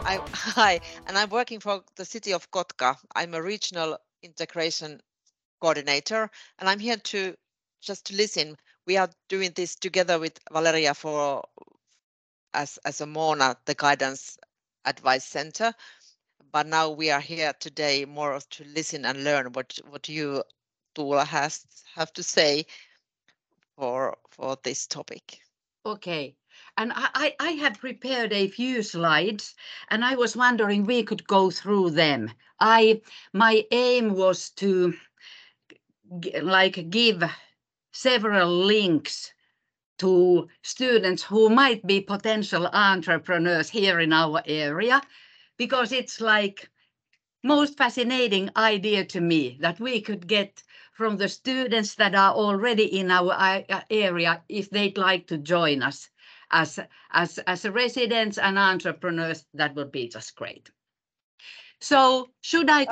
Hi, and I'm working for the city of Kotka. I'm a regional integration coordinator, and I'm here to just to listen. We are doing this together with Valeria as a Mona, the Guidance Advice Center. But now we are here today more to listen and learn what you, Tuula, have to say for this topic. Okay. And I have prepared a few slides, and I was wondering we could go through them. My aim was to give several links to students who might be potential entrepreneurs here in our area, because it's like most fascinating idea to me that we could get from the students that are already in our area if they'd like to join us as residents and entrepreneurs. That would be just great. So should I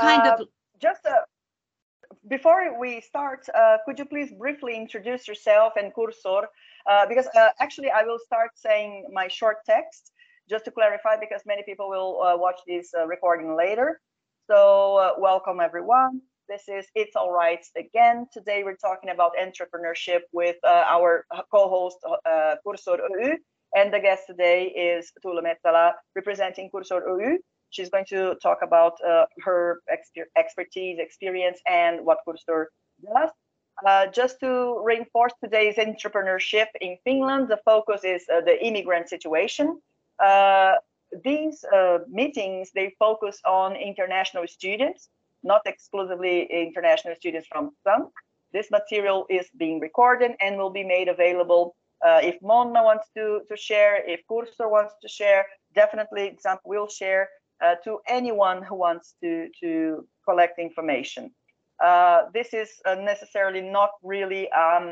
before we start, could you please briefly introduce yourself and Cursor? Because actually I will start saying my short text just to clarify, because many people will watch this recording later. So welcome everyone. This is It's All Right again. Today we're talking about entrepreneurship with our co-host Cursor Oy, and the guest today is Tuula Mettälä representing Cursor Oy. She's going to talk about her expertise, experience, and what Cursor does. Just to reinforce today's entrepreneurship in Finland, the focus is the immigrant situation. These meetings, they focus on international students, not exclusively international students from Finland. This material is being recorded and will be made available if Mona wants to share, if Cursor wants to share, definitely Xamp will share to anyone who wants to collect information. This is necessarily not really,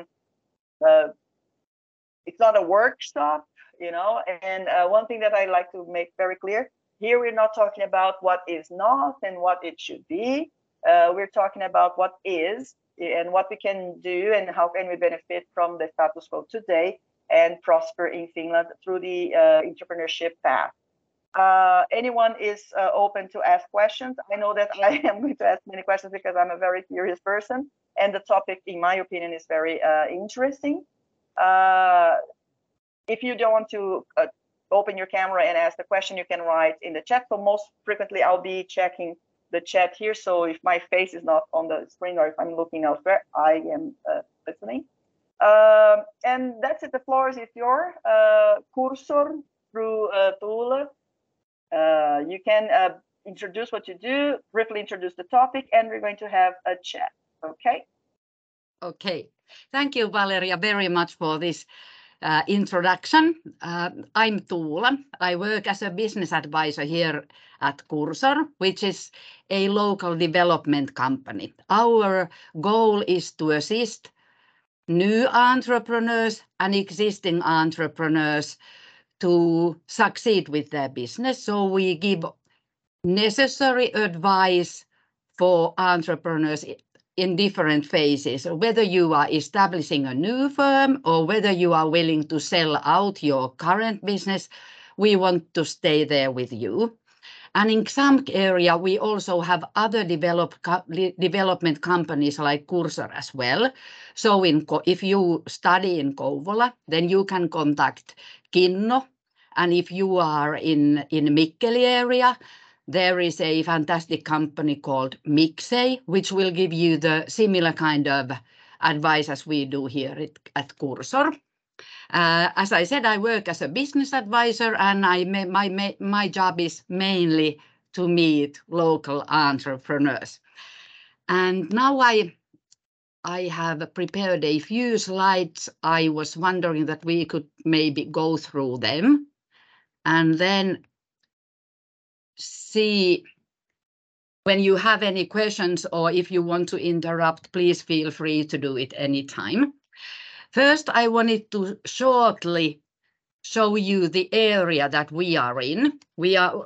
it's not a workshop, you know, and one thing that I like to make very clear, here we're not talking about what is not and what it should be. We're talking about what is and what we can do and how can we benefit from the status quo today and prosper in Finland through the entrepreneurship path. Anyone is open to ask questions. I know that I am going to ask many questions because I'm a very curious person, and the topic, in my opinion, is very interesting. If you don't want to open your camera and ask the question, you can write in the chat. So most frequently, I'll be checking the chat here. So if my face is not on the screen or if I'm looking elsewhere, I am listening. And that's it. The floor is yours. Cursor through Tuula. You can introduce what you do, briefly introduce the topic, and we're going to have a chat. Okay? Okay. Thank you, Valeria, very much for this introduction. I'm Tuula. I work as a business advisor here at Cursor, which is a local development company. Our goal is to assist new entrepreneurs and existing entrepreneurs to succeed with their business. So we give necessary advice for entrepreneurs in different phases, whether you are establishing a new firm or whether you are willing to sell out your current business, we want to stay there with you. And in some area, we also have other development companies like Cursor as well. So if you study in Kouvola, then you can contact Kinno. And if you are in Mikkeli area, there is a fantastic company called Mixey, which will give you the similar kind of advice as we do here at Cursor. As I said, I work as a business advisor, and my job is mainly to meet local entrepreneurs. And now I have prepared a few slides. I was wondering that we could maybe go through them and then see when you have any questions, or if you want to interrupt, please feel free to do it anytime. First, I wanted to shortly show you the area that we are in. We are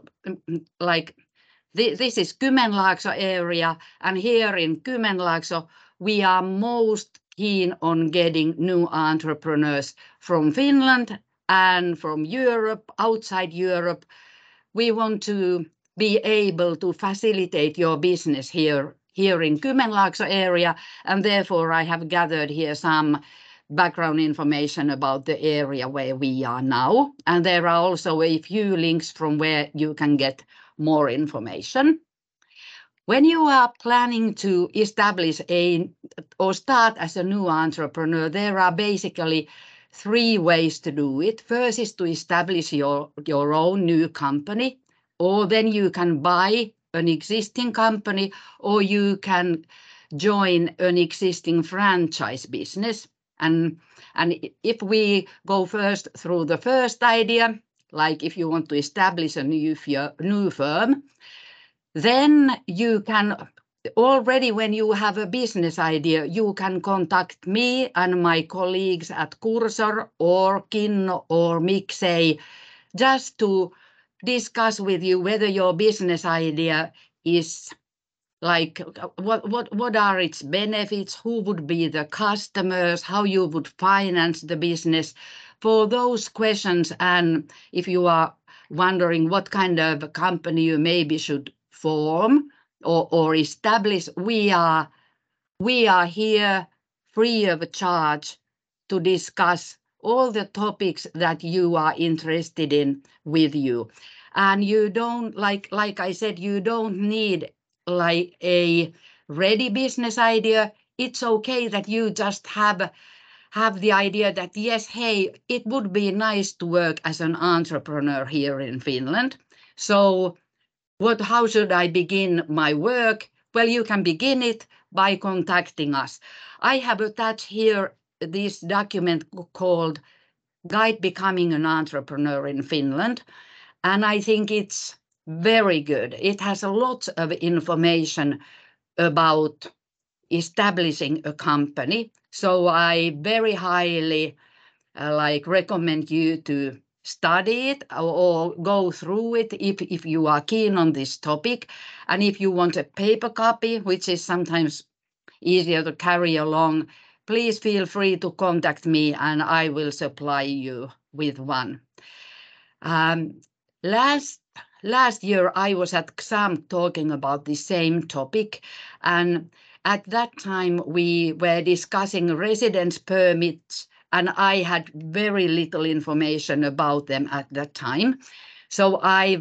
this is Kymenlaakso area, and here in Kymenlaakso, we are most keen on getting new entrepreneurs from Finland and from Europe, outside Europe, we want to be able to facilitate your business here in Kymenlaakso area, and therefore I have gathered here some background information about the area where we are now, and there are also a few links from where you can get more information. When you are planning to establish or start as a new entrepreneur, there are basically 3 ways to do it. First is to establish your own new company, or then you can buy an existing company, or you can join an existing franchise business. And if we go first through the first idea, like if you want to establish a new firm, then you can already, when you have a business idea, you can contact me and my colleagues at Cursor or Kinno or Mixey just to discuss with you whether your business idea is like what are its benefits, who would be the customers, how you would finance the business. For those questions, and if you are wondering what kind of company you maybe should form or establish, we are here free of charge to discuss all the topics that you are interested in with you. And you don't, like I said, you don't need like a ready business idea. It's okay that you just have the idea that, yes, hey, it would be nice to work as an entrepreneur here in Finland. So how should I begin my work? Well, you can begin it by contacting us. I have attached here this document called Guide Becoming an Entrepreneur in Finland, and I think it's very good. It has a lot of information about establishing a company. So I very highly recommend you to study it or go through it if you are keen on this topic. And if you want a paper copy, which is sometimes easier to carry along, please feel free to contact me and I will supply you with one. Last year I was at XAMK talking about the same topic, and at that time we were discussing residence permits, and I had very little information about them at that time. So I've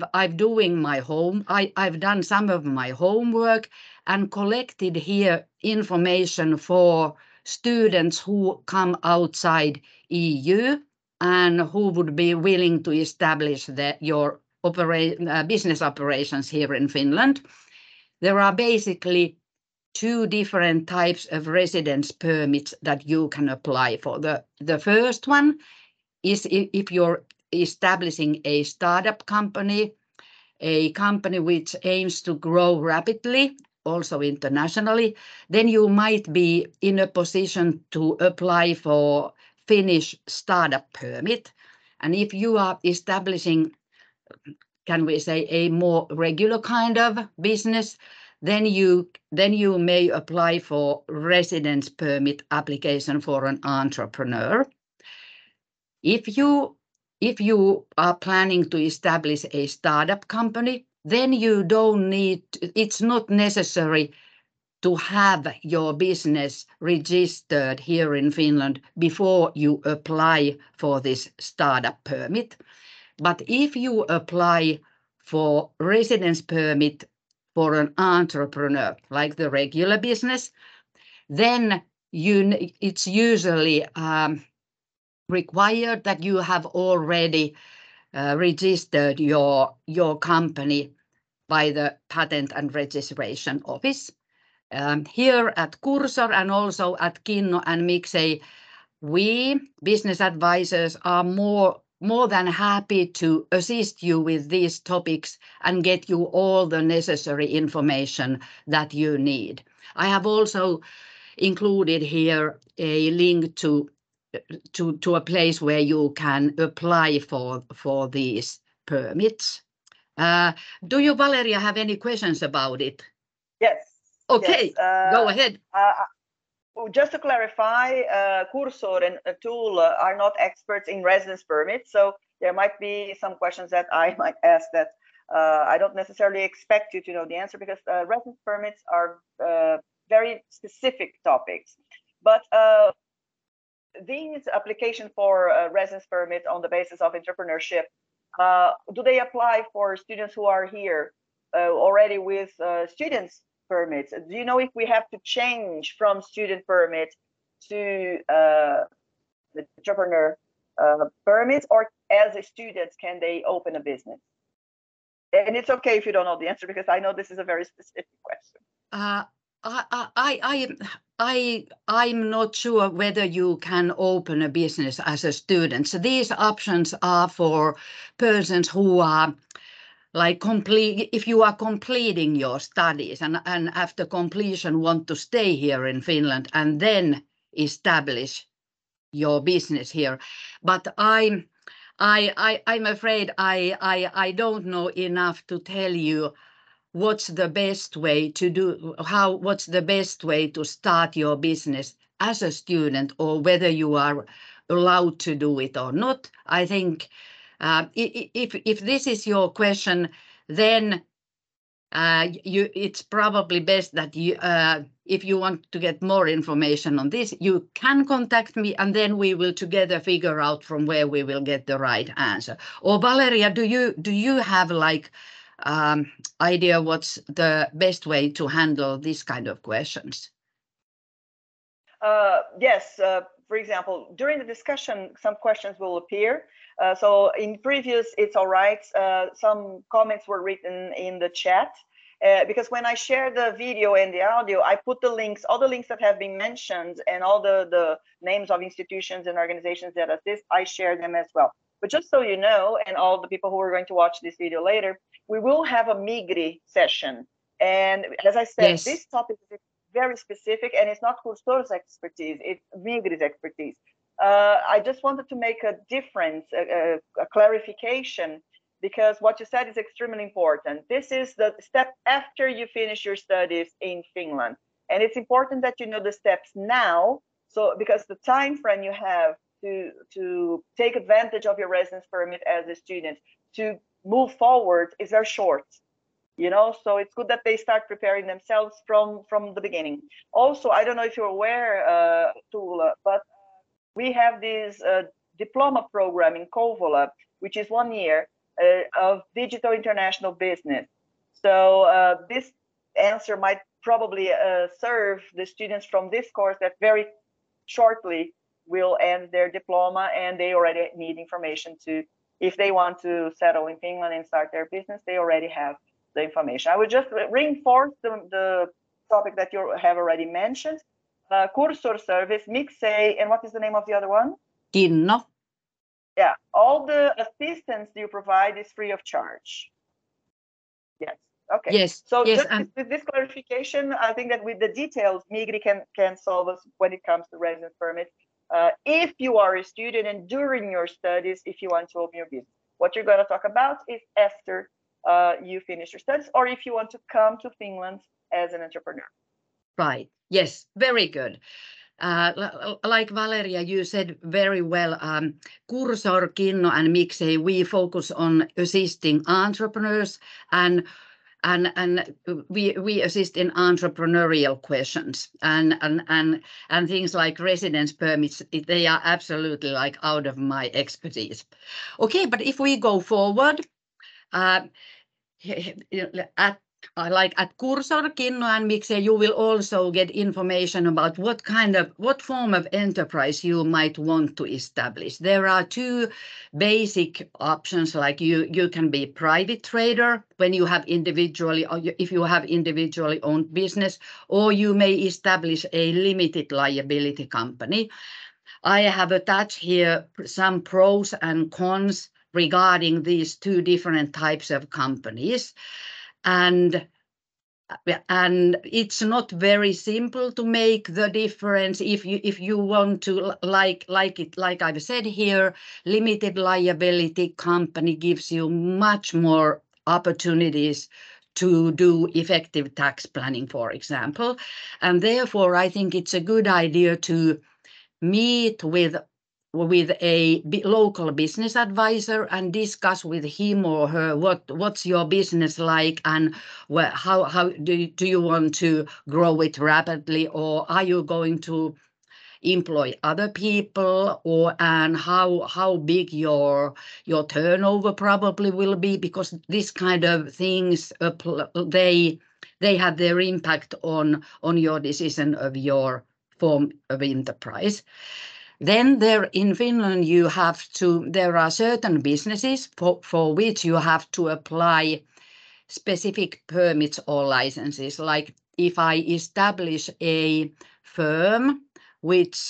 done some of my homework and collected here information for students who come outside EU and who would be willing to establish your business operations here in Finland. There are basically 2 different types of residence permits that you can apply for. The first one is if you're establishing a startup company, a company which aims to grow rapidly, also internationally, then you might be in a position to apply for Finnish startup permit. And if you are establishing, can we say, a more regular kind of business, then you may apply for residence permit application for an entrepreneur. If you are planning to establish a startup company, then you don't need, it's not necessary to have your business registered here in Finland before you apply for this startup permit. But if you apply for residence permit for an entrepreneur, like the regular business, then it's usually required that you have already registered your company by the Patent and Registration Office. Here at Cursor and also at Kinno and Mixey, we business advisors are more than happy to assist you with these topics and get you all the necessary information that you need. I have also included here a link to a place where you can apply for these permits. Do you, Valeria, have any questions about it? Yes. Okay, yes. Go ahead. Just to clarify, Cursor and Tool are not experts in residence permits, so there might be some questions that I might ask that I don't necessarily expect you to know the answer because residence permits are very specific topics. But these application for a residence permit on the basis of entrepreneurship, do they apply for students who are here already with students permits? Do you know if we have to change from student permit to the entrepreneur permits, or as a student can they open a business? And it's okay if you don't know the answer, because I know this is a very specific question. I'm not sure whether you can open a business as a student. So these options are for persons who are like if you are completing your studies and after completion want to stay here in Finland and then establish your business here. But I'm afraid I don't know enough to tell you what's the best way to do, what's the best way to start your business as a student, or whether you are allowed to do it or not. I think if this is your question, then it's probably best that you, if you want to get more information on this, you can contact me, and then we will together figure out from where we will get the right answer. Or Valeria, do you have like idea what's the best way to handle this kind of questions? Yes. For example, during the discussion, some questions will appear. So in previous, it's all right. Some comments were written in the chat. Because when I share the video and the audio, I put the links, all the links that have been mentioned and all the names of institutions and organizations that assist, I share them as well. But just so you know, and all the people who are going to watch this video later, we will have a Migri session. And as I said, yes, this topic is very specific and it's not Cursor's expertise, it's Migri's expertise. I just wanted to make a difference, a clarification, because what you said is extremely important. This is the step after you finish your studies in Finland. And it's important that you know the steps now, so because the time frame you have to take advantage of your residence permit as a student to move forward is very short. You know, so it's good that they start preparing themselves from the beginning. Also, I don't know if you're aware, Tuula, but we have this diploma program in Kouvola, which is 1 year of digital international business. So this answer might probably serve the students from this course that very shortly will end their diploma, and they already need information to, if they want to settle in Finland and start their business, they already have the information. I would just reinforce the topic that you have already mentioned. Cursor service, Mixei, and what is the name of the other one? Kinno. Yeah, all the assistance you provide is free of charge. Yes. Okay. Yes. So yes, just with this clarification, I think that with the details, Migri can solve us when it comes to residence permit. If you are a student and during your studies, if you want to open your business, what you're going to talk about is after you finish your studies, or if you want to come to Finland as an entrepreneur. Right. Yes. Very good. Like Valeria, you said very well, Cursor, Kinno, and Mixei, we focus on assisting entrepreneurs, and we assist in entrepreneurial questions and things like residence permits. They are absolutely like out of my expertise. Okay, but if we go forward, at Cursor, Kinno, and Mixei, you will also get information about what form of enterprise you might want to establish. There are two basic options, like you can be private trader when you have individually, or if you have individually owned business, or you may establish a limited liability company. I have attached here some pros and cons regarding these two different types of companies. And it's not very simple to make the difference if you want to like I've said here, limited liability company gives you much more opportunities to do effective tax planning, for example. And therefore, I think it's a good idea to meet with with a local business advisor and discuss with him or her what's your business like, and how do you want to grow it rapidly, or are you going to employ other people, and how big your turnover probably will be, because this kind of things they have their impact on your decision of your form of enterprise. Then there in Finland there are certain businesses for which you have to apply specific permits or licenses. Like if I establish a firm which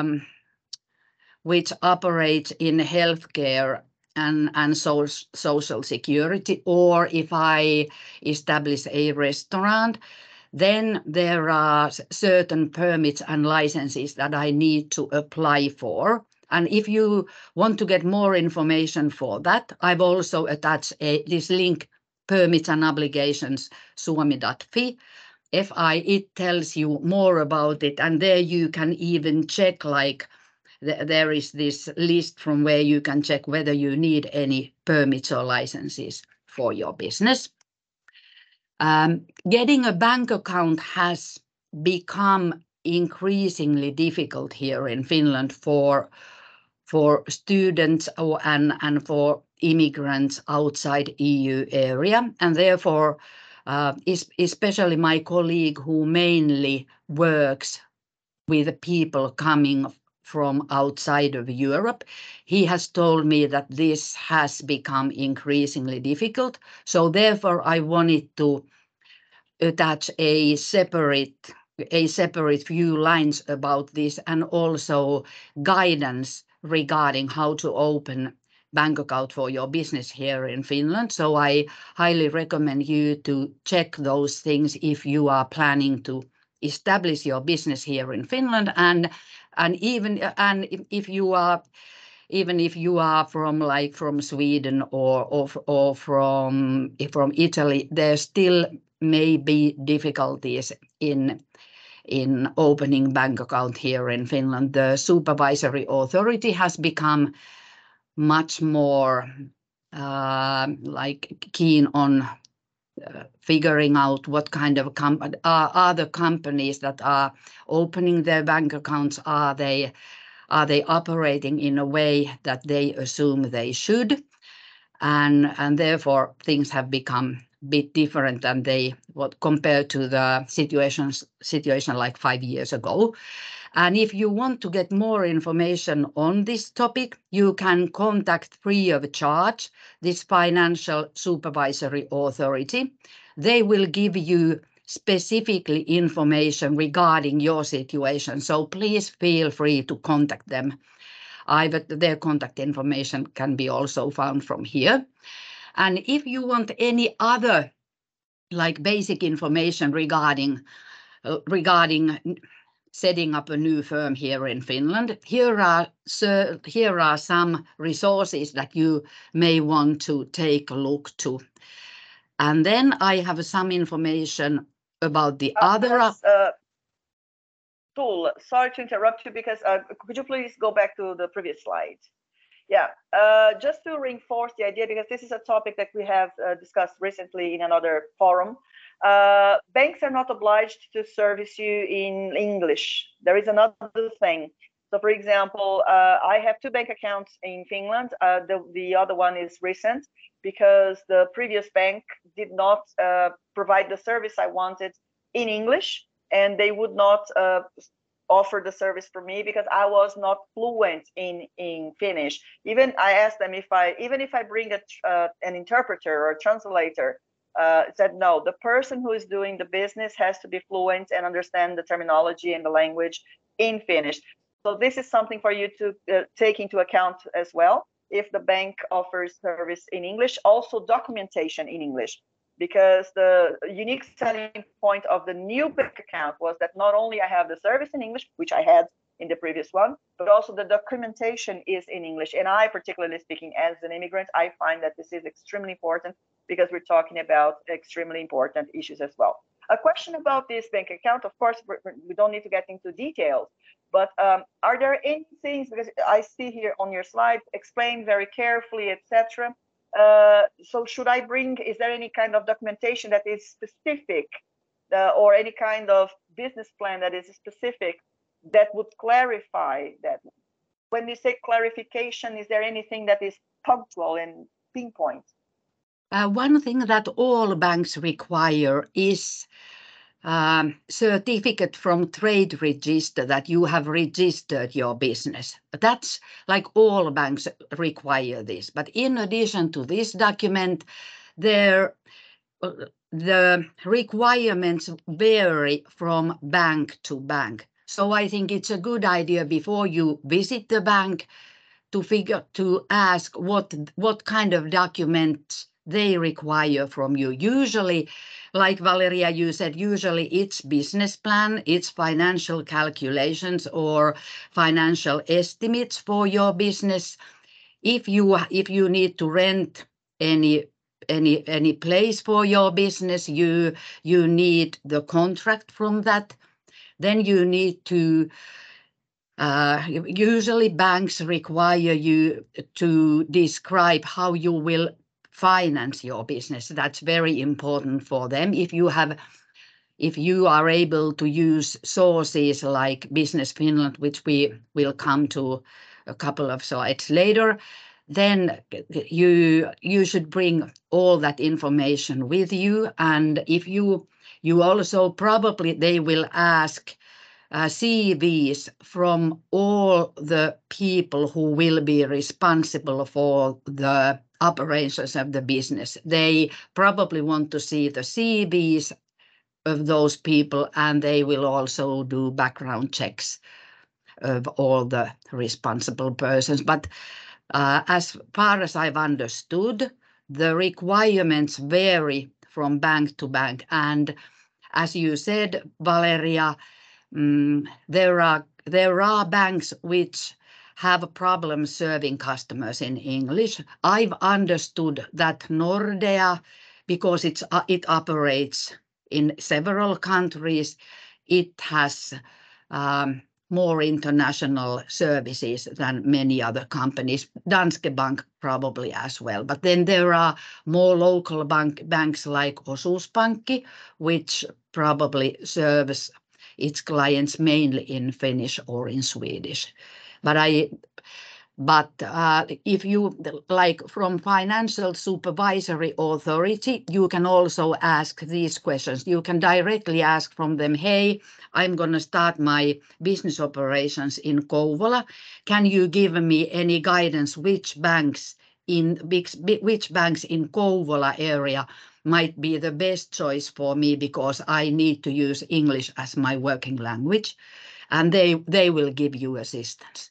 operates in healthcare and social security, or if I establish a restaurant, then there are certain permits and licenses that I need to apply for. And if you want to get more information for that, I've also attached this link, Permits and Obligations, suomi.fi. It tells you more about it, and there you can even check, like there is this list from where you can check whether you need any permits or licenses for your business. Getting a bank account has become increasingly difficult here in Finland for students and for immigrants outside EU area, and therefore especially my colleague who mainly works with people coming from outside of Europe, he has told me that this has become increasingly difficult. So therefore I wanted to attach a separate few lines about this, and also guidance regarding how to open bank account for your business here in Finland. So I highly recommend you to check those things if you are planning to establish your business here in Finland, and even if you are from Sweden or from Italy, there still may be difficulties in opening bank account here in Finland. The supervisory authority has become much more keen on figuring out what kind of are the companies that are opening their bank accounts, are they operating in a way that they assume they should, and therefore things have become a bit different than compared to the situation like 5 years ago. And if you want to get more information on this topic, you can contact free of charge this Financial Supervisory Authority. They will give you specifically information regarding your situation. So please feel free to contact them. Their contact information can be also found from here. And if you want any other basic information regarding setting up a new firm here in Finland, here are some resources that you may want to take a look to. And then I have some information about the other. Tuula, sorry to interrupt you, because could you please go back to the previous slide? Yeah, just to reinforce the idea, because this is a topic that we have discussed recently in another forum. Banks are not obliged to service you in English. There is another thing. So, for example, I have 2 bank accounts in Finland. The other one is recent because the previous bank did not provide the service I wanted in English, and they would not offer the service for me because I was not fluent in Finnish. Even I asked them if I bring an interpreter or a translator, said no. The person who is doing the business has to be fluent and understand the terminology and the language in Finnish. So this is something for you to take into account as well. If the bank offers service in English, also documentation in English. Because the unique selling point of the new bank account was that not only I have the service in English, which I had in the previous one, but also the documentation is in English. And I, particularly speaking as an immigrant, I find that this is extremely important because we're talking about extremely important issues as well. A question about this bank account, of course, we don't need to get into details, but are there any things, because I see here on your slide, explain very carefully, etc. So should I bring, is there any kind of documentation that is specific or any kind of business plan that is specific that would clarify that? When you say clarification, is there anything that is punctual and pinpoint? One thing that all banks require is certificate from trade register that you have registered your business. That's like all banks require this. But in addition to this document, the requirements vary from bank to bank. So I think it's a good idea before you visit the bank to ask what kind of documents they require from you. Usually, like Valeria, you said, usually it's business plan, it's financial calculations or financial estimates for your business. If you need to rent any place for your business, you need the contract from that. Then you need to usually banks require you to describe how you will finance your business. That's very important for them. If you are able to use sources like Business Finland, which we will come to a couple of slides later, then you should bring all that information with you. And if you also probably they will ask CVs from all the people who will be responsible for the operations of the business. They probably want to see the CVs of those people, and they will also do background checks of all the responsible persons. But as far as I've understood, the requirements vary from bank to bank. And as you said, Valeria, there are banks which have problems serving customers in English. I've understood that Nordea, because it operates in several countries, it has more international services than many other companies. Danske Bank probably as well. But then there are more local banks like Osuuspankki, which probably serves its clients mainly in Finnish or in Swedish. But if you like from Financial Supervisory Authority, you can also ask these questions. You can directly ask from them, hey, I'm going to start my business operations in Kouvola. Can you give me any guidance which banks in Kouvola area might be the best choice for me, because I need to use English as my working language, and they will give you assistance.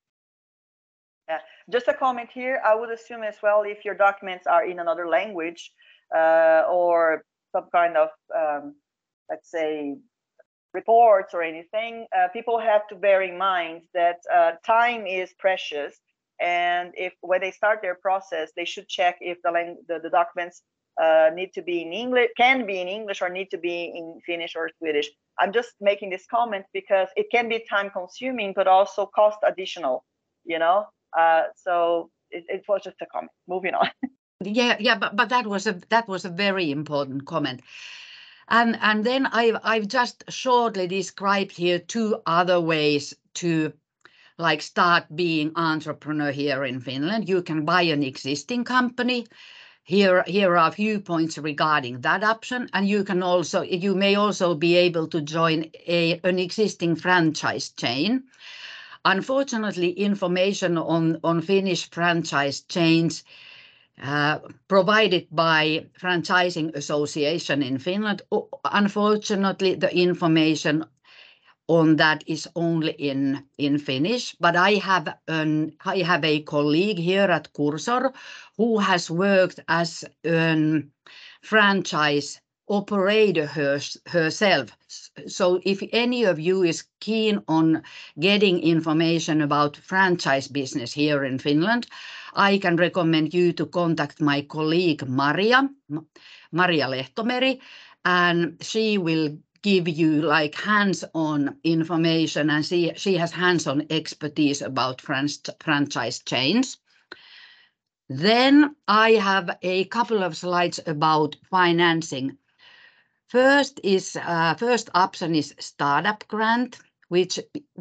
Just a comment here, I would assume as well, if your documents are in another language or some kind of, let's say, reports or anything, people have to bear in mind that time is precious. And when they start their process, they should check if the documents need to be in English, can be in English, or need to be in Finnish or Swedish. I'm just making this comment because it can be time consuming, but also cost additional, you know. So it was just a comment. Moving on. Yeah, but that was a very important comment. And then I've just shortly described here two other ways to like start being entrepreneur here in Finland. You can buy an existing company. Here are a few points regarding that option, and you may also be able to join an existing franchise chain. Unfortunately, information on Finnish franchise chains provided by Franchising Association in Finland. Unfortunately, the information on that is only in Finnish, but I have a colleague here at Cursor who has worked as a franchise operator herself. So if any of you is keen on getting information about franchise business here in Finland, I can recommend you to contact my colleague Maria Lehtomeri, and she will give you like hands-on information, and she has hands-on expertise about franchise chains. Then I have a couple of slides about financing. First option is startup grant, which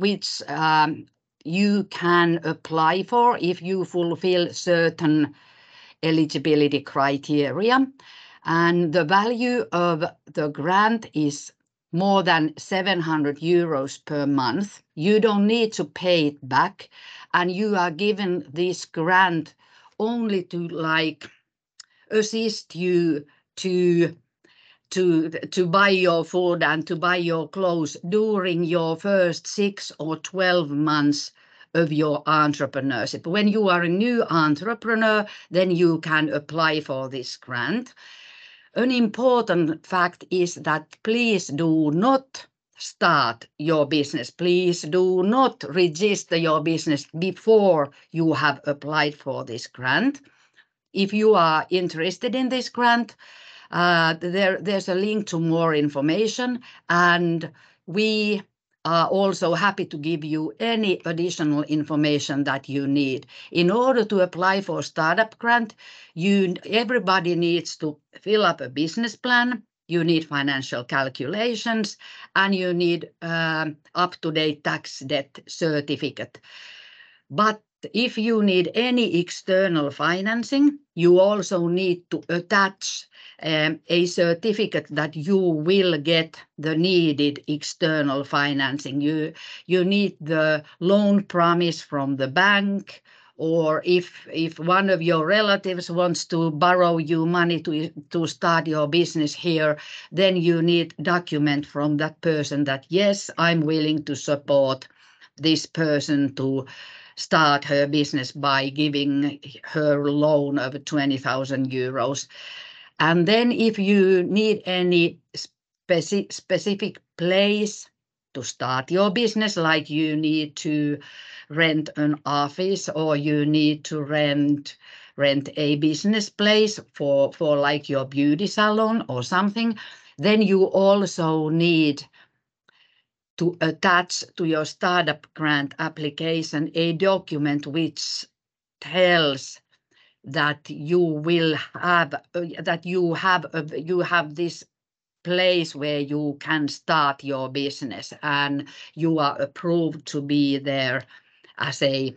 you can apply for if you fulfill certain eligibility criteria. And the value of the grant is more than 700 euros per month. You don't need to pay it back, and you are given this grant only to like assist you to buy your food and to buy your clothes during your first 6 or 12 months of your entrepreneurship. When you are a new entrepreneur, then you can apply for this grant. An important fact is that please do not start your business. Please do not register your business before you have applied for this grant. If you are interested in this grant, there's a link to more information, and we are also happy to give you any additional information that you need. In order to apply for startup grant, everybody needs to fill up a business plan, you need financial calculations, and you need up-to-date tax debt certificate. But if you need any external financing, you also need to attach a certificate that you will get the needed external financing. You need the loan promise from the bank, or if one of your relatives wants to borrow you money to start your business here, then you need document from that person that, yes, I'm willing to support this person to start her business by giving her loan of 20,000 euros. And then if you need any specific place to start your business, like you need to rent an office or you need to rent a business place for like your beauty salon or something, then you also need to attach to your startup grant application a document which tells that you have this place where you can start your business and you are approved to be there as a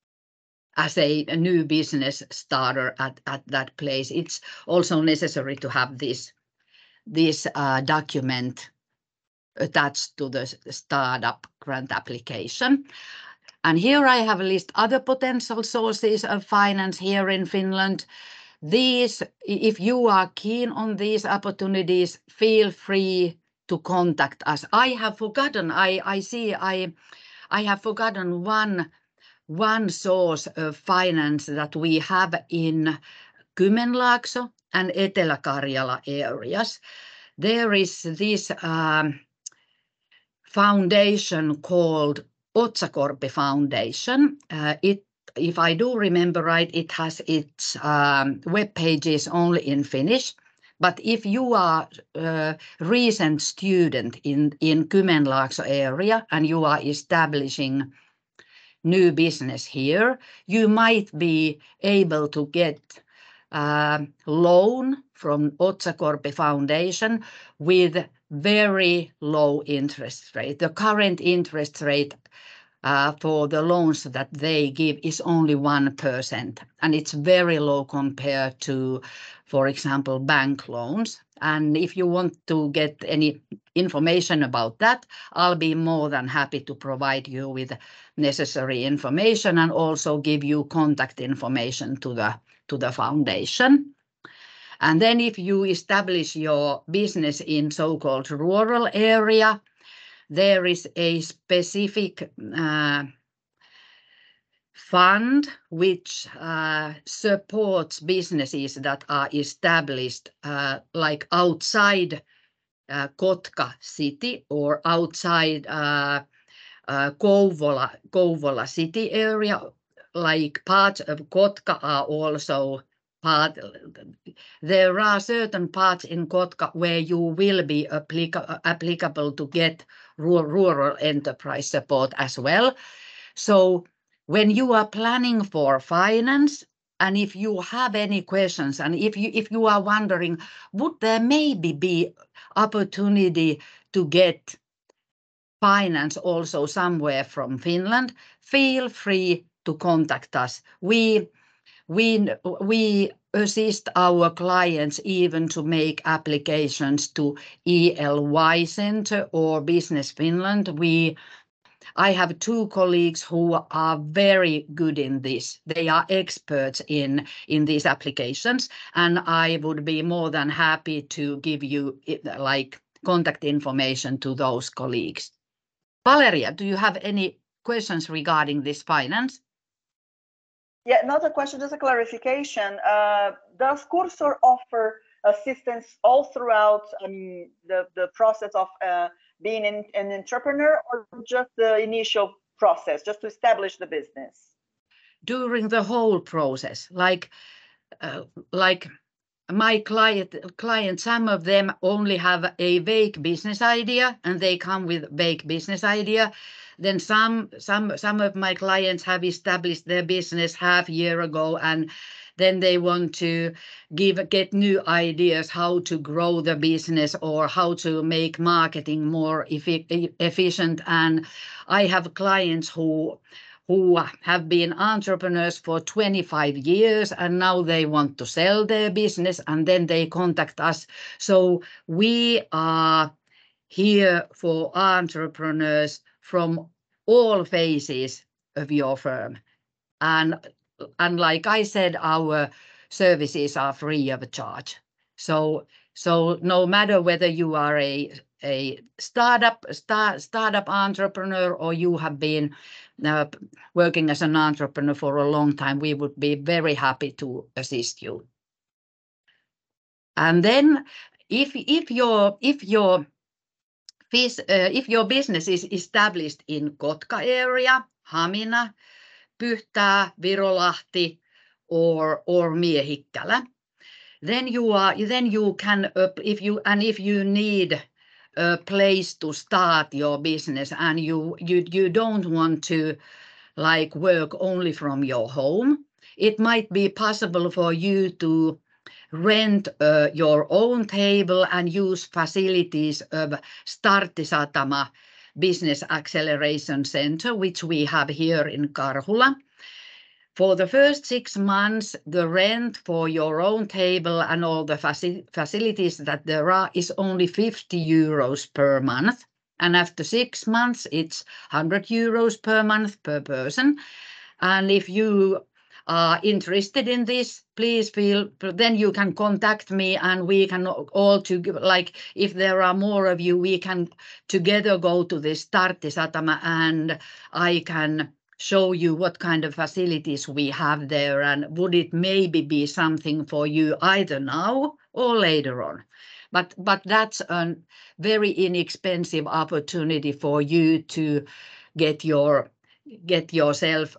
new business starter at that place. It's also necessary to have this document attached to the startup grant application. And here I have a list other potential sources of finance here in Finland. These, if you are keen on these opportunities, feel free to contact us. I have forgotten, I have forgotten one source of finance that we have in Kymenlaakso and Etelä-Karjala areas. There is this foundation called Otsakorpi Foundation. If I do remember right, it has its web pages only in Finnish. But if you are a recent student in Kymenlaakso area and you are establishing new business here, you might be able to get loan from Otsakorpi Foundation with very low interest rate. The current interest rate for the loans that they give is only 1%, and it's very low compared to, for example, bank loans. And if you want to get any information about that, I'll be more than happy to provide you with necessary information and also give you contact information to the foundation. And then if you establish your business in so-called rural area, there is a specific fund which supports businesses that are established like outside Kotka city or outside Kouvola city area. Like parts of Kotka are also part. There are certain parts in Kotka where you will be applicable to get rural enterprise support as well. So when you are planning for finance, and if you have any questions, and if you are wondering, would there maybe be opportunity to get finance also somewhere from Finland, feel free to contact us. We assist our clients even to make applications to ELY Center or Business Finland. I have 2 colleagues who are very good in this. They are experts in these applications, and I would be more than happy to give you like contact information to those colleagues. Valeria, do you have any questions regarding this finance? Yeah, not a question, just a clarification. Does Cursor offer assistance all throughout the process of being an entrepreneur, or just the initial process, just to establish the business? During the whole process, like my client, some of them only have a vague business idea, and they come with vague business idea. Then some of my clients have established their business half year ago, and then they want to get new ideas how to grow the business or how to make marketing more efficient. And I have clients who have been entrepreneurs for 25 years, and now they want to sell their business, and then they contact us. So we are here for entrepreneurs from all phases of your firm. And like I said, our services are free of charge. So no matter whether you are a startup entrepreneur or you have been working as an entrepreneur for a long time, we would be very happy to assist you. And then if your business is established in Kotka area, Hamina, Pyhtää, Virolahti, or Miehikkälä, then you can if you need a place to start your business, and you don't want to like work only from your home, it might be possible for you to rent your own table and use facilities of Starttisatama Business Acceleration Center, which we have here in Karhula. For the first 6 months, the rent for your own table and all the facilities that there are is only 50 euros per month. And after 6 months, it's 100 euros per month per person. And if you are interested in this, please then you can contact me, and we can all like if there are more of you, we can together go to this Starttisatama, and I can show you what kind of facilities we have there, and would it maybe be something for you either now or later on. But that's a very inexpensive opportunity for you to get yourself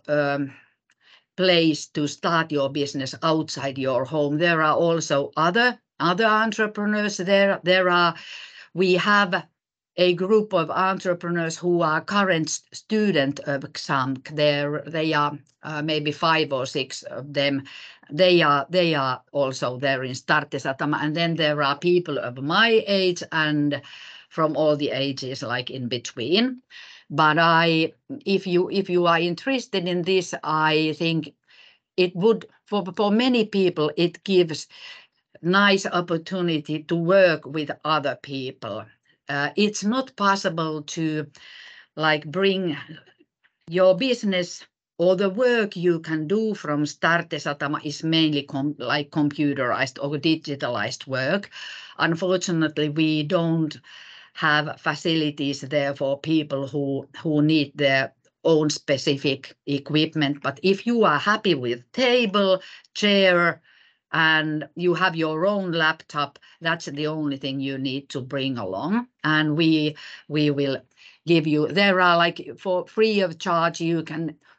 place to start your business outside your home. There are also other entrepreneurs there. We have a group of entrepreneurs who are current student of XAMK. They are maybe 5 or 6 of them. They are also there in Starttisatama, and then there are people of my age and from all the ages like in between. But if you are interested in this, I think it would for many people it gives nice opportunity to work with other people. It's not possible to like bring your business or the work you can do from Starttisatama is mainly like computerized or digitalized work. Unfortunately, we don't have facilities there for people who need their own specific equipment. But if you are happy with table, chair, and you have your own laptop, that's the only thing you need to bring along. And we will give you, there are like for free of charge, you can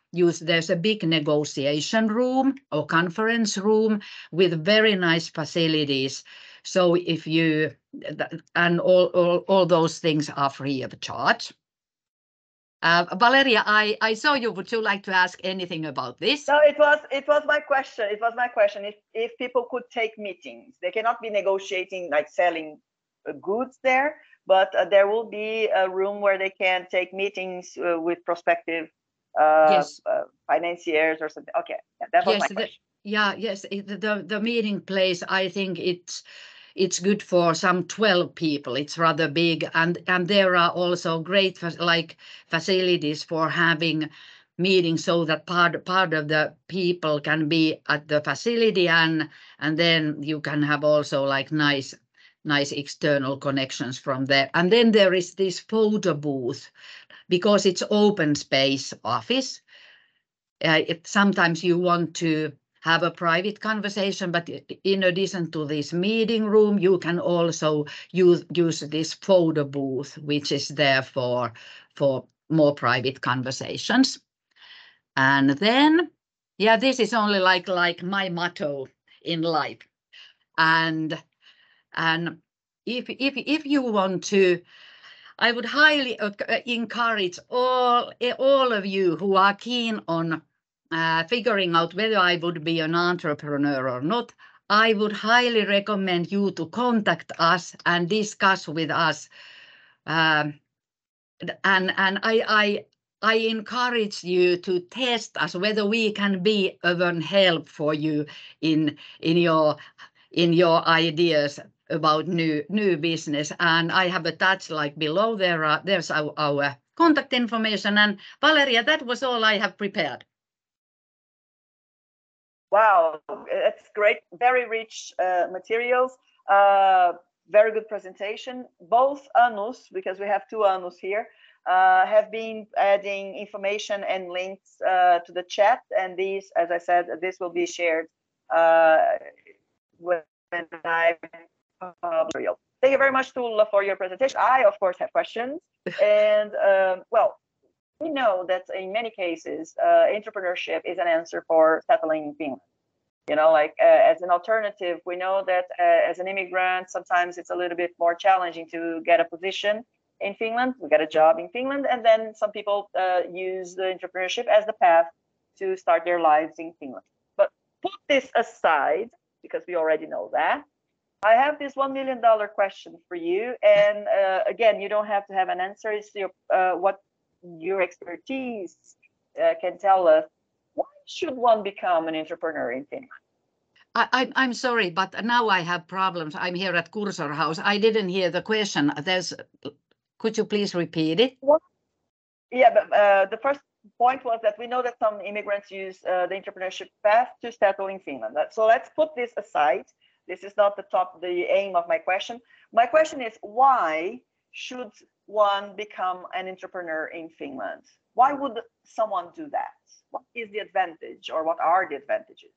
there's a big negotiation room or conference room with very nice facilities. So if you, and all those things are free of charge. Valeria, I saw you. Would you like to ask anything about this? No, it was my question. It was my question. If people could take meetings, they cannot be negotiating like selling goods there, but there will be a room where they can take meetings with prospective Yes. financiers or something. Okay, yeah, that was Yes, my question. Yes. The meeting place, I think it's good for some 12 people. It's rather big, and there are also great facilities for having meetings, so that part of the people can be at the facility, and then you can have also like nice external connections from there. And then there is this photo booth, because it's open space office. Sometimes you want to have a private conversation, but in addition to this meeting room, you can also use this photo booth, which is there for more private conversations. And then, yeah, this is only like my motto in life. And if you want to, I would highly encourage all of you who are keen on figuring out whether I would be an entrepreneur or not. I would highly recommend you to contact us and discuss with us. And I encourage you to test us whether we can be of an help for you in your ideas about new business. And I have attached like below there's our contact information. And Valeria, that was all I have prepared. Wow, it's great. Very rich materials. Very good presentation. Both Anus, because we have two Anus here, have been adding information and links to the chat. And these, as I said, this will be shared when I material. Thank you very much, Tuula, for your presentation. I, of course, have questions. And well, we know that in many cases, entrepreneurship is an answer for settling in Finland. You know, like as an alternative, we know that as an immigrant, sometimes it's a little bit more challenging to get a position in Finland, we get a job in Finland, and then some people use the entrepreneurship as the path to start their lives in Finland. But put this aside, because we already know that. I have this $1 million question for you, and again, you don't have to have an answer. It's your what your expertise can tell us. Why should one become an entrepreneur in Finland? I'm sorry, but now I have problems. I'm here at Cursor House. I didn't hear the question. Could you please repeat it? What? Yeah, but the first point was that we know that some immigrants use the entrepreneurship path to settle in Finland. So let's put this aside. This is not the aim of my question. My question is, why should one become an entrepreneur in Finland? Why would someone do that? What is the advantage, or what are the advantages?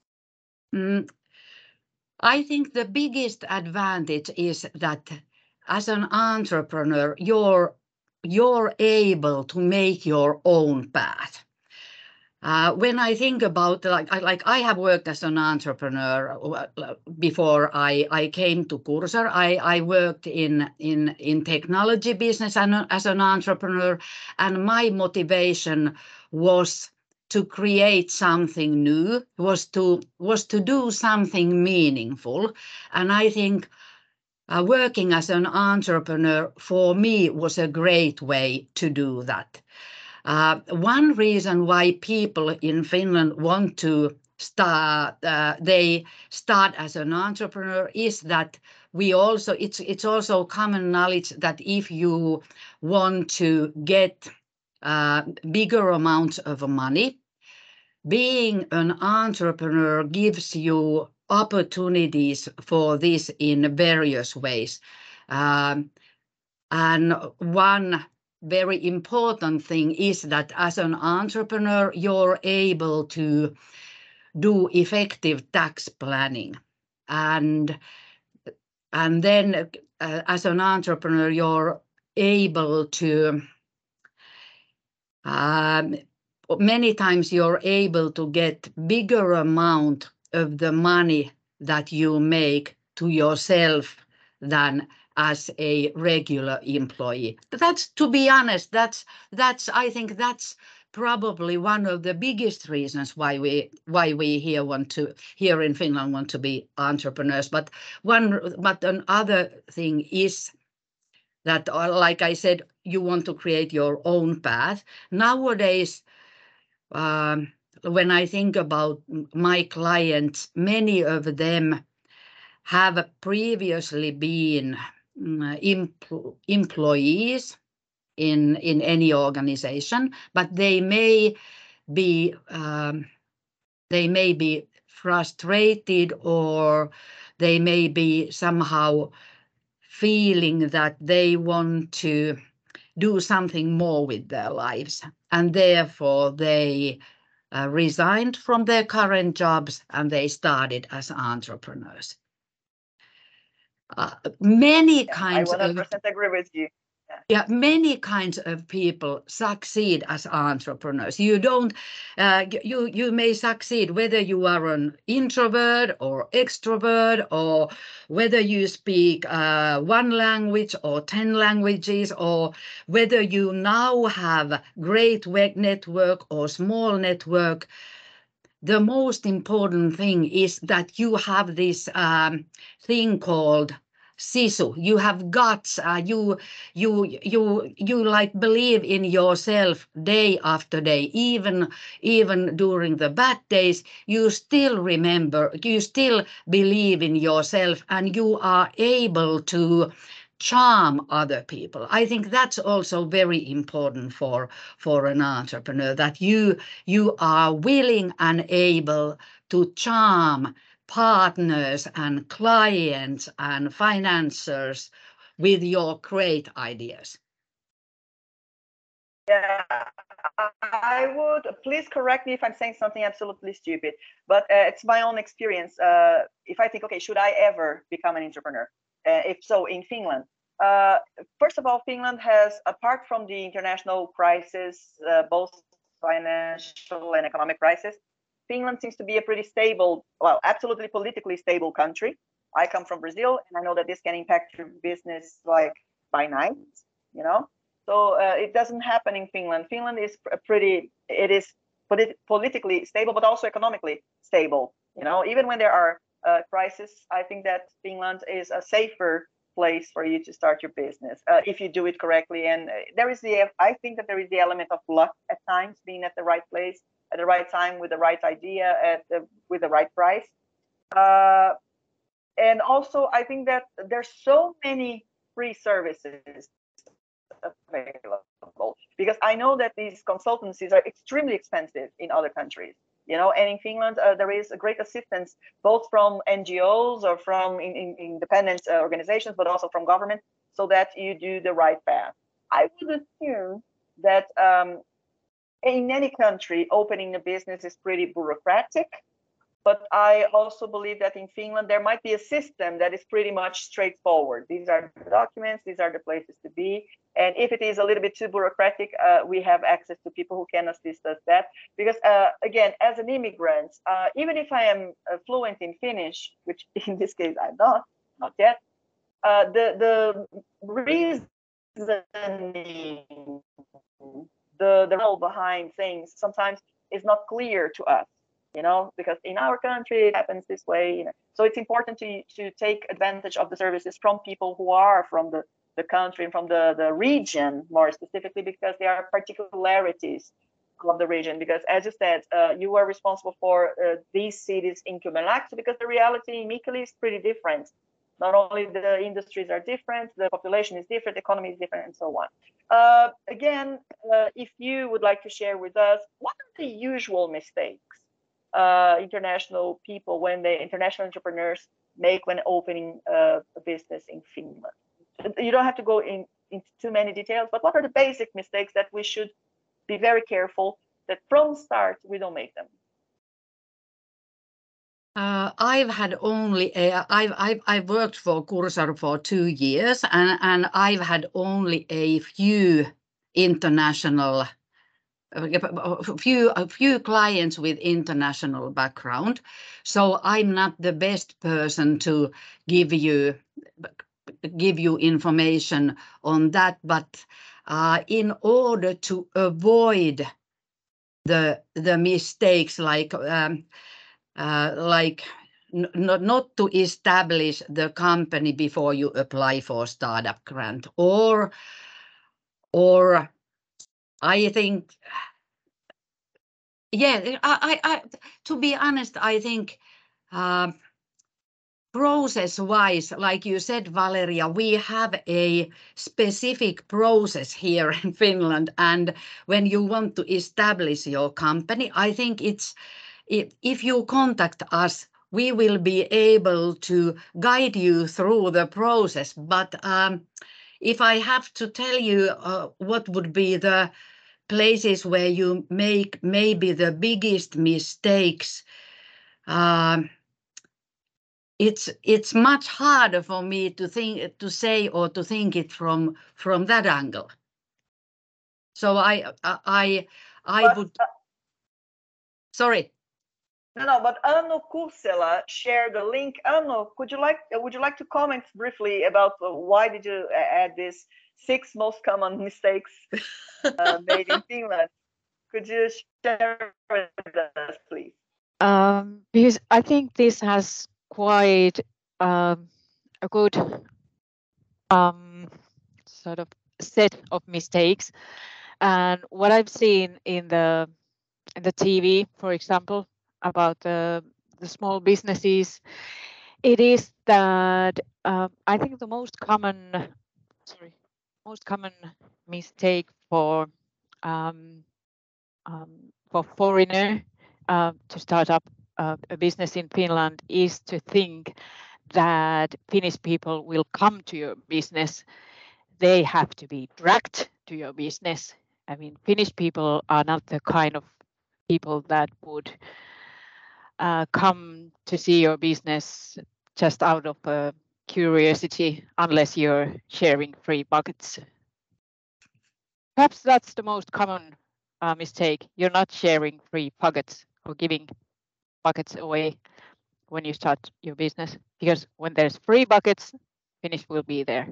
I think the biggest advantage is that as an entrepreneur, you're able to make your own path. When I think about like I have worked as an entrepreneur before I came to Cursor. I worked in technology business as an entrepreneur, and my motivation was to create something new, was to do something meaningful. And I think working as an entrepreneur for me was a great way to do that. One reason why people in Finland want to start as an entrepreneur is that it's also common knowledge that if you want to get bigger amounts of money, being an entrepreneur gives you opportunities for this in various ways. And one very important thing is that as an entrepreneur, you're able to do effective tax planning. And then as an entrepreneur, you're able to many times you're able to get bigger amount of the money that you make to yourself than as a regular employee. That's, to be honest, I think that's probably one of the biggest reasons why we here in Finland want to be entrepreneurs. But another thing is that, like I said, you want to create your own path. Nowadays, when I think about my clients, many of them have previously been employees in any organization, but they may be frustrated, or they may be somehow feeling that they want to do something more with their lives, and therefore they resigned from their current jobs and they started as entrepreneurs. Many kinds I 100% agree with you. Yeah, many kinds of people succeed as entrepreneurs. You don't, you may succeed whether you are an introvert or extrovert, or whether you speak one language or 10 languages, or whether you now have great network or small network. The most important thing is that you have this thing called sisu. You have guts. You like believe in yourself day after day, even during the bad days. You still remember. You still believe in yourself, and you are able to charm other people. I think that's also very important for an entrepreneur, that you are willing and able to charm partners and clients and financiers with your great ideas. Yeah, I would, please correct me if I'm saying something absolutely stupid, but it's my own experience. If I think, okay, should I ever become an entrepreneur? If so, in Finland. First of all, Finland has, apart from the international crisis, both financial and economic crisis, Finland seems to be a pretty stable, well, absolutely politically stable country. I come from Brazil, and I know that this can impact your business like by night, you know? So it doesn't happen in Finland. Finland is politically stable, but also economically stable. You know, even when there are crises, I think that Finland is a safer place for you to start your business if you do it correctly. And I think that there is the element of luck at times, being at the right place at the right time with the right idea with the right price. And also, I think that there's so many free services available, because I know that these consultancies are extremely expensive in other countries, you know, and in Finland there is a great assistance both from NGOs or from independent organizations, but also from government, so that you do the right path. I would assume that in any country opening a business is pretty bureaucratic, but I also believe that in Finland there might be a system that is pretty much straightforward. These are the documents, these are the places to be. And if it is a little bit too bureaucratic, we have access to people who can assist us that. Because again, as an immigrant, even if I am fluent in Finnish, which in this case I'm not yet, the reasoning, the role behind things sometimes is not clear to us. You know, because in our country it happens this way. You know? So it's important to take advantage of the services from people who are from the country and from the region more specifically, because there are particularities of the region. Because as you said, you are responsible for these cities in Kymenlaakso, because the reality in Mikkeli is pretty different. Not only the industries are different, the population is different, the economy is different, and so on. Again, if you would like to share with us, what are the usual mistakes international entrepreneurs make when opening a business in Finland? You don't have to go into too many details, but what are the basic mistakes that we should be very careful that from start we don't make them? I've worked for Cursor for 2 years, and I've had only a few international a few clients with international background, so I'm not the best person to give you information on that. But in order to avoid the mistakes, like not to establish the company before you apply for startup grant, or I think, yeah, I to be honest, I think process-wise, like you said, Valeria, we have a specific process here in Finland, and when you want to establish your company, I think if you contact us, we will be able to guide you through the process. But if I have to tell you what would be the places where you make maybe the biggest mistakes, it's much harder for me to say or to think it from that angle. So I would. Sorry. No, but Anu Kursela shared the link. Anu, would you like to comment briefly about why did you add this 6 most common mistakes made in Finland? Could you share with us, please? Because I think this has quite a good sort of set of mistakes, and what I've seen in the TV, for example, about the small businesses, it is that I think the most common mistake for foreigner to start up a business in Finland is to think that Finnish people will come to your business. They have to be dragged to your business. I mean, Finnish people are not the kind of people that would come to see your business just out of curiosity, unless you're sharing free buckets. Perhaps that's the most common mistake. You're not sharing free buckets or giving buckets away when you start your business, because when there's free buckets, Finnish will be there.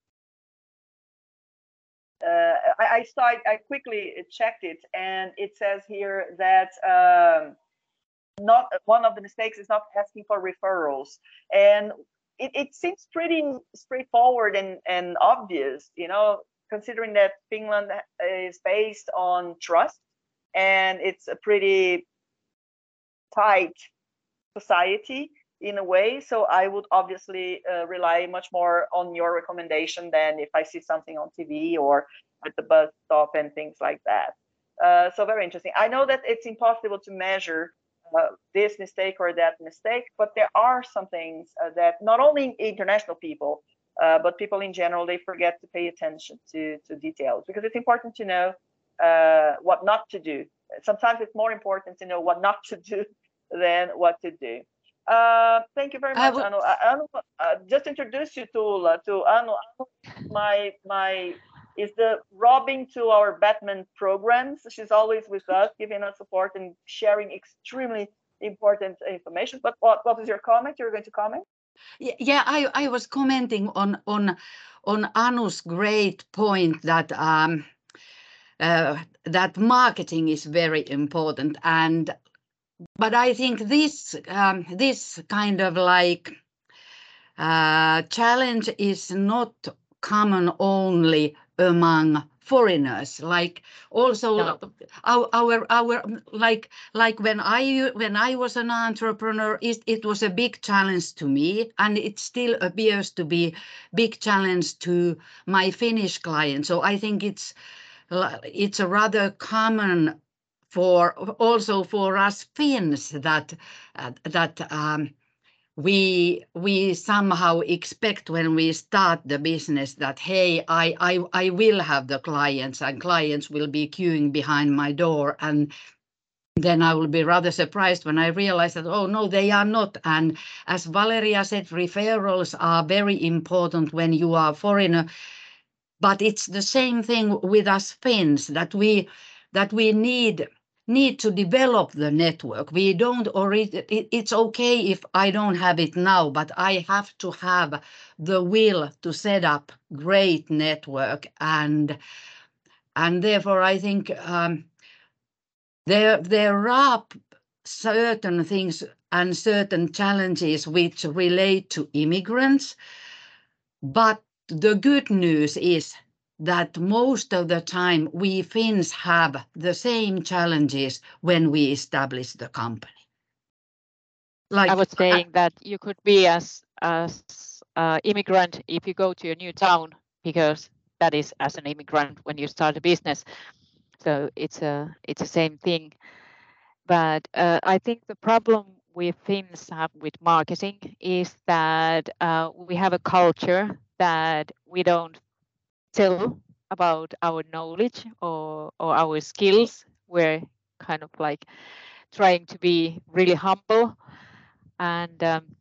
I quickly checked it, and it says here that not one of the mistakes is not asking for referrals, and it seems pretty straightforward and obvious, considering that Finland is based on trust, and it's a pretty tight society in a way. So I would obviously rely much more on your recommendation than if I see something on TV or at the bus stop and things like that. So very interesting. I know that it's impossible to measure this mistake or that mistake, but there are some things that not only international people, but people in general, they forget to pay attention to details, because it's important to know what not to do. Sometimes it's more important to know what not to do than what to do. Thank you very much, Anu. Anu, just introduce you to Anu. Anu, is the Robin to our Batman programs. She's always with us, giving us support and sharing extremely important information. But what was your comment? You're going to comment? Yeah, I was commenting on Anu's great point that that marketing is very important, but I think this kind of like challenge is not common only among foreigners. Like also our like when I was an entrepreneur, it was a big challenge to me, and it still appears to be big challenge to my Finnish clients. So I think it's a rather common also for us Finns that we somehow expect when we start the business that, hey, I will have the clients, and clients will be queuing behind my door, and then I will be rather surprised when I realize that, oh no, they are not. And as Valeria said, referrals are very important when you are a foreigner, but it's the same thing with us Finns, that we that we need to develop the network. We don't, or it's okay if I don't have it now, but I have to have the will to set up great network, and therefore I think there are certain things and certain challenges which relate to immigrants, but the good news is that most of the time we Finns have the same challenges when we establish the company. Like I was saying that you could be as immigrant if you go to a new town, because that is as an immigrant when you start a business. So it's the same thing. But I think the problem we Finns have with marketing is that we have a culture that we don't tell about our knowledge or our skills. We're kind of like trying to be really humble, and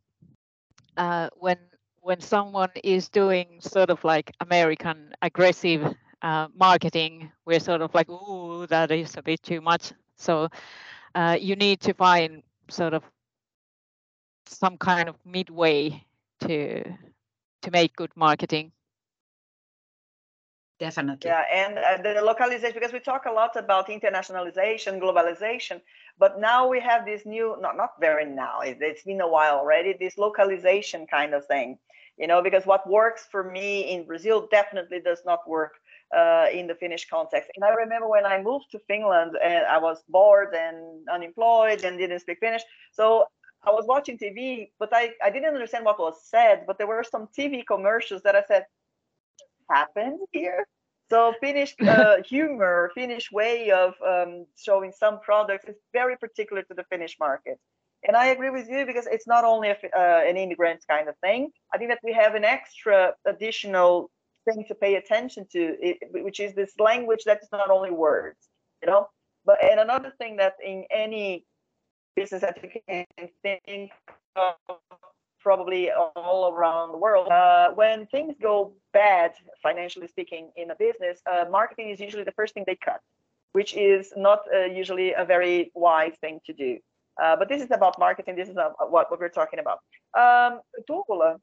when someone is doing sort of like American aggressive marketing, we're sort of like, ooh, that is a bit too much. So you need to find sort of some kind of midway to make good marketing. Definitely. Yeah, and the localization, because we talk a lot about internationalization, globalization, but now we have this new, not very now, it's been a while already, this localization kind of thing, you know, because what works for me in Brazil definitely does not work in the Finnish context. And I remember when I moved to Finland and I was bored and unemployed and didn't speak Finnish. So I was watching TV, but I didn't understand what was said, but there were some TV commercials that I said, happened here. So Finnish humor, Finnish way of showing some products is very particular to the Finnish market. And I agree with you, because it's not only an immigrant kind of thing. I think that we have an extra additional thing to pay attention to, which is this language that is not only words, you know. But and another thing that in any business that you can think of, probably all around the world, when things go bad, financially speaking, in a business, marketing is usually the first thing they cut, which is not usually a very wise thing to do. But this is about marketing. This is what we're talking about. Tuula,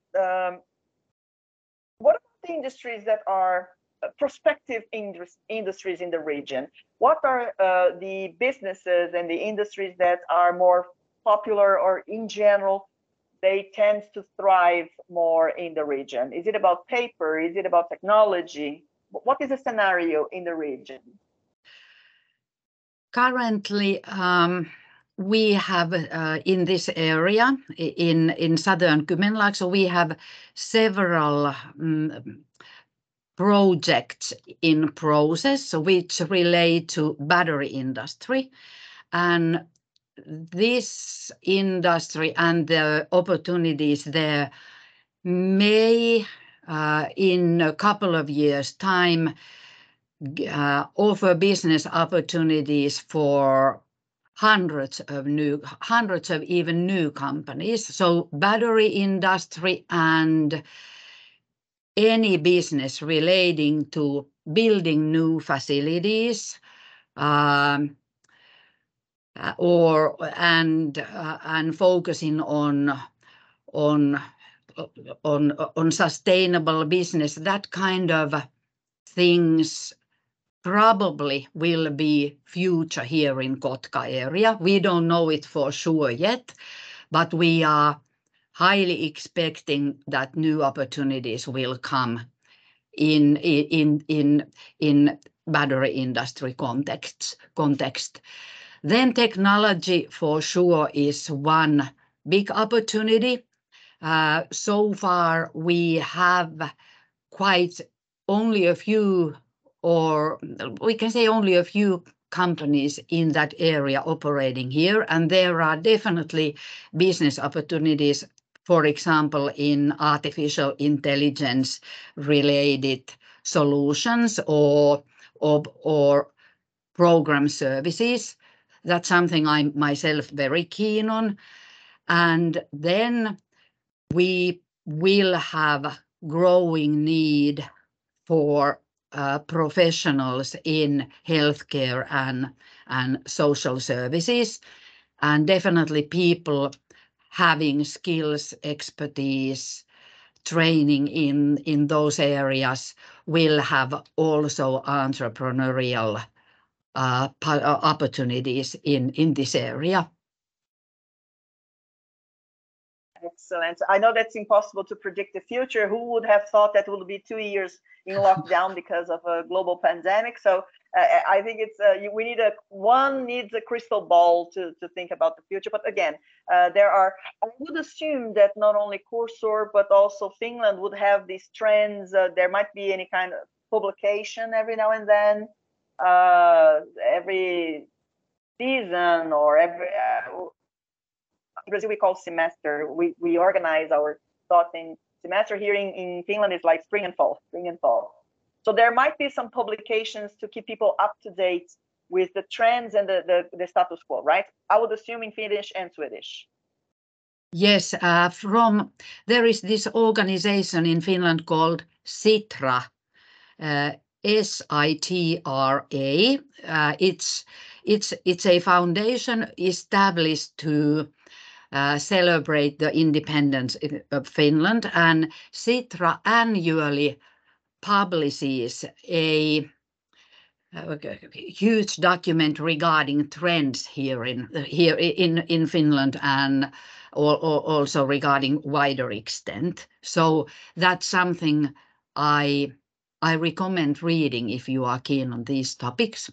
what about the industries that are prospective industries in the region? What are the businesses and the industries that are more popular, or in general, they tend to thrive more in the region? Is it about paper? Is it about technology? What is the scenario in the region? Currently, we have in this area, in southern Kymenlaakso, so we have several projects in process which relate to battery industry. And this industry and the opportunities there may, in a couple of years' time, offer business opportunities for hundreds of even new companies. So battery industry and any business relating to building new facilities, and focusing on sustainable business, that kind of things probably will be future here in Kotka area. We don't know it for sure yet, but we are highly expecting that new opportunities will come in battery industry context. Then technology for sure is one big opportunity. So far we have quite only a few, or we can say only a few companies in that area operating here, and there are definitely business opportunities, for example, in artificial intelligence related solutions or program services. That's something I'm myself very keen on. And then we will have growing need for professionals in healthcare and social services, and definitely people having skills, expertise, training in those areas will have also entrepreneurial opportunities in this area. Excellent. I know that's impossible to predict the future. Who would have thought that would be 2 years in lockdown because of a global pandemic? So I think it's we need one needs a crystal ball to think about the future. But again, I would assume that not only Cursor but also Finland would have these trends. There might be any kind of publication every now and then, every season or every. In Brazil, we call semester. We organize our thoughts in semester. Here in Finland, it's like spring and fall. So there might be some publications to keep people up to date with the trends and the status quo, right? I would assume in Finnish and Swedish. Yes, there is this organization in Finland called Sitra, SITRA. It's a foundation established to celebrate the independence of Finland, and Sitra annually publishes a huge document regarding trends here in Finland and also regarding wider extent. So that's something I recommend reading if you are keen on these topics.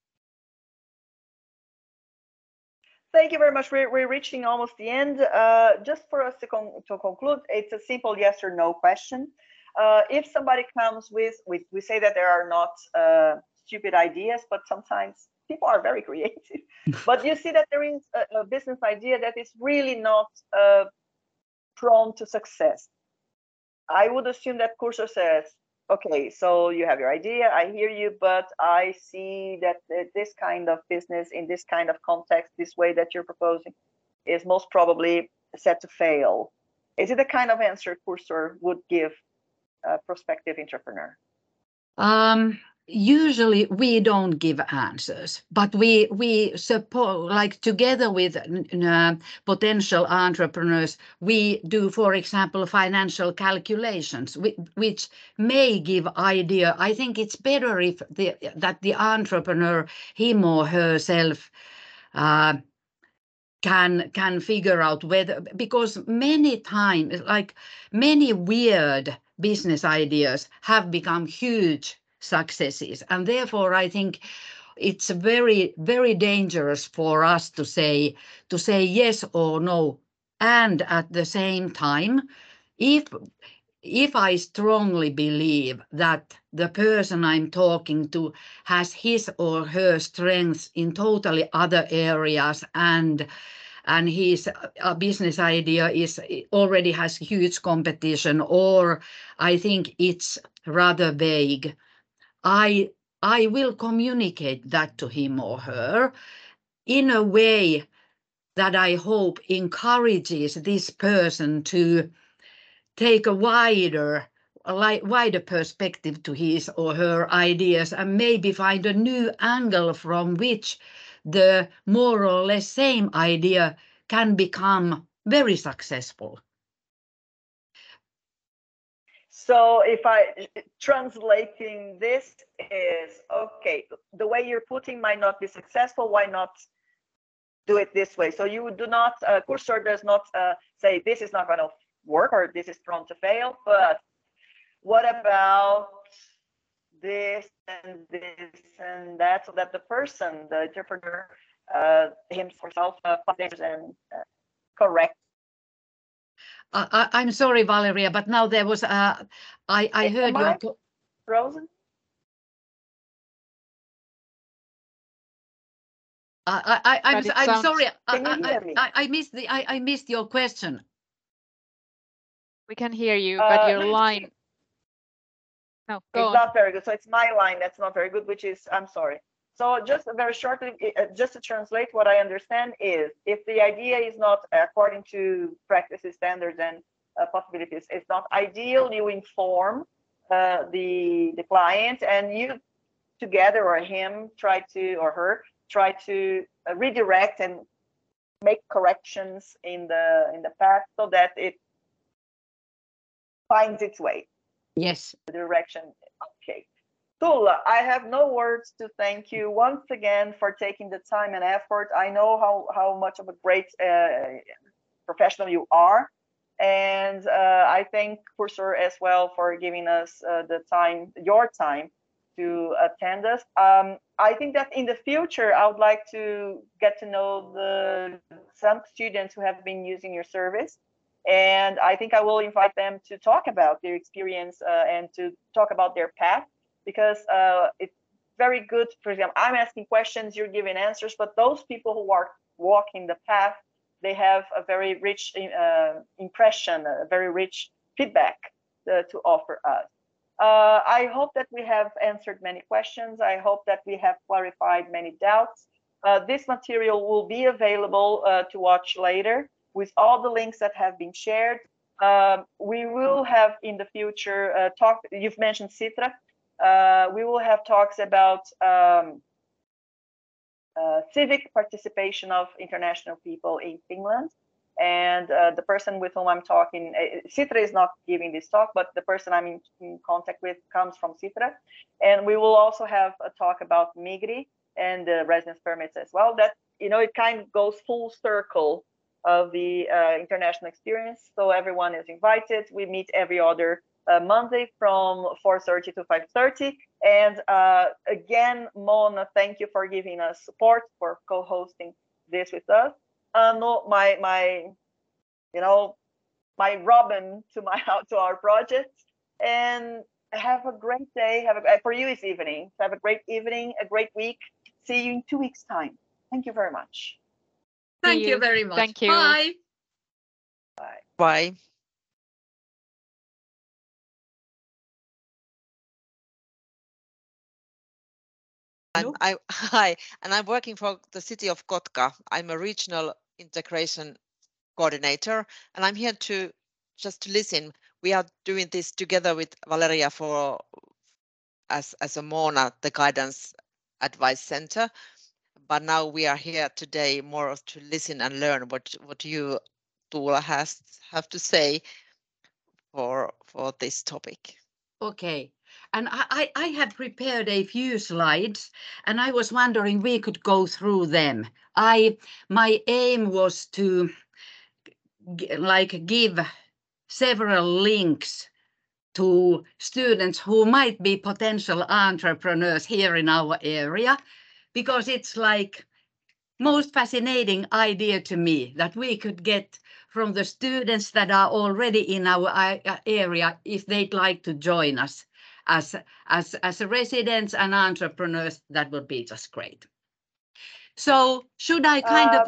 Thank you very much. We're reaching almost the end. Just for us to conclude, it's a simple yes or no question. If somebody comes with, we say that there are not stupid ideas, but sometimes people are very creative. But you see that there is a business idea that is really not prone to success. I would assume that Cursor says, okay, so you have your idea, I hear you, but I see that this kind of business in this kind of context, this way that you're proposing is most probably set to fail. Is it the kind of answer Cursor would give a prospective entrepreneur? Usually we don't give answers, but we suppose, like together with potential entrepreneurs, we do, for example, financial calculations, which may give idea. I think it's better if that the entrepreneur, him or herself, can figure out whether, because many times, like many weird business ideas have become huge successes, and therefore I think it's very, very dangerous for us to say yes or no. And at the same time, if I strongly believe that the person I'm talking to has his or her strengths in totally other areas, and his business idea already has huge competition, or I think it's rather vague, I will communicate that to him or her in a way that I hope encourages this person to take a wider perspective to his or her ideas, and maybe find a new angle from which the more or less same idea can become very successful. So if translating this is, okay, the way you're putting might not be successful, why not do it this way? So you do not, Cursor does not say this is not going to work or this is prone to fail, but what about this and this and that, so that the person, the entrepreneur, himself, and correct. I'm sorry, Valeria, but now there was I heard you frozen. I'm sorry. Can you hear me? I missed your question. We can hear you, but your line. No, go on. Not very good. So it's my line that's not very good, which is, I'm sorry. So just very shortly, just to translate, what I understand is, if the idea is not according to practices, standards, and possibilities, it's not ideal, you inform the client, and you together, or him, or her try to redirect and make corrections in the path so that it finds its way. Yes. The direction. Okay. Tuula, I have no words to thank you once again for taking the time and effort. I know how much of a great professional you are, and I thank Cursor as well for giving us your time to attend us. I think that in the future, I would like to get to know some students who have been using your service. And I think I will invite them to talk about their experience and to talk about their path, because it's very good. For example, I'm asking questions, you're giving answers, but those people who are walking the path, they have a very rich impression, a very rich feedback to offer us. I hope that we have answered many questions. I hope that we have clarified many doubts. This material will be available to watch later with all the links that have been shared. We will have in the future you've mentioned Sitra. We will have talks about civic participation of international people in Finland. And the person with whom I'm talking, Sitra is not giving this talk, but the person I'm in contact with comes from Sitra. And we will also have a talk about Migri and the residence permits as well. That, it kind of goes full circle of the international experience. So everyone is invited. We meet every other Monday from 4:30 to 5:30. And again, Mona, thank you for giving us support, for co-hosting this with us. No, my Robin to our project, and have a great day. For you, it's evening. So have a great evening, a great week. See you in 2 weeks' time. Thank you very much. Thank you very much. Thank you. Bye. Bye. Bye. Hi, and I'm working for the city of Kotka. I'm a regional integration coordinator, and I'm here to listen. We are doing this together with Valeria as a Mona, the Guidance Advice Center. But now we are here today more to listen and learn what you, Tuula, have to say for this topic. Okay. And I had prepared a few slides, and I was wondering we could go through them. My aim was to give several links to students who might be potential entrepreneurs here in our area, because it's like most fascinating idea to me that we could get from the students that are already in our area, if they'd like to join us as residents and entrepreneurs. That would be just great. So should I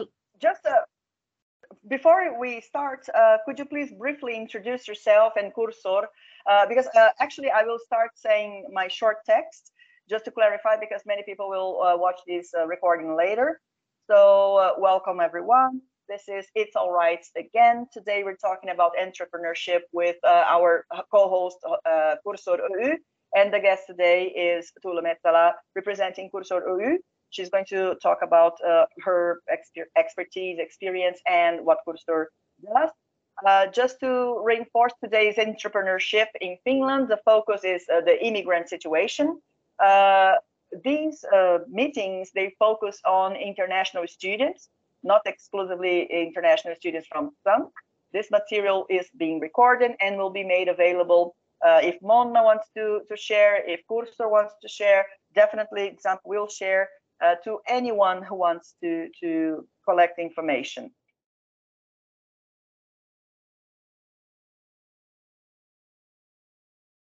before we start, could you please briefly introduce yourself and Cursor? Because actually I will start saying my short text just to clarify, because many people will watch this recording later. So welcome everyone. This is It's All Right again. Today we're talking about entrepreneurship with our co-host Cursor Oy, and the guest today is Tuula Mettälä representing Cursor Oy. She's going to talk about her expertise, experience, and what Cursor does. Just to reinforce today's entrepreneurship in Finland, the focus is the immigrant situation. These meetings, they focus on international students, not exclusively international students from SANK. This material is being recorded and will be made available if Mona wants to share, if Cursor wants to share, definitely SANK will share to anyone who wants to collect information.